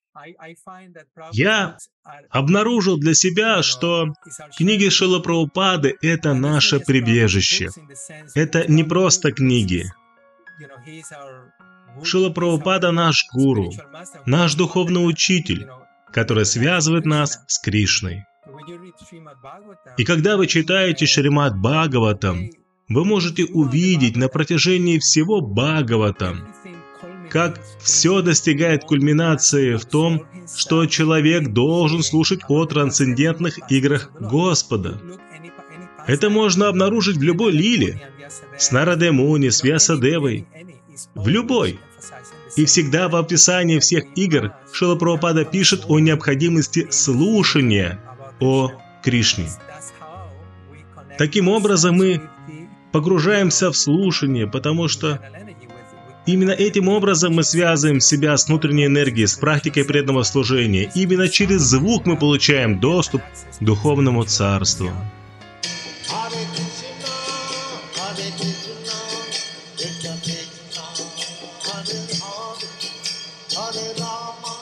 Я обнаружил для себя, что книги Шрилы Прабхупады – это наше прибежище. Это не просто книги. Шрила Прабхупада – наш гуру, наш духовный учитель, который связывает нас с Кришной. И когда вы читаете Шримад Бхагаватам, вы можете увидеть на протяжении всего Бхагаватам, как все достигает кульминации в том, что человек должен слушать о трансцендентных играх Господа. Это можно обнаружить в любой лиле, с Нарадой Муни, с Вьясадевой, в любой. И всегда в описании всех игр Шрила Прабхупада пишет о необходимости слушания о Кришне. Таким образом мы погружаемся в слушание, потому что именно этим образом мы связываем себя с внутренней энергией, с практикой преданного служения. Именно через звук мы получаем доступ к духовному царству. Hare Rama